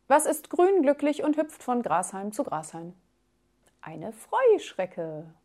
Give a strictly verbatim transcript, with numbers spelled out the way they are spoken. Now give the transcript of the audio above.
Was ist grün, glücklich und hüpft von Grashalm zu Grashalm? Eine Freuschrecke.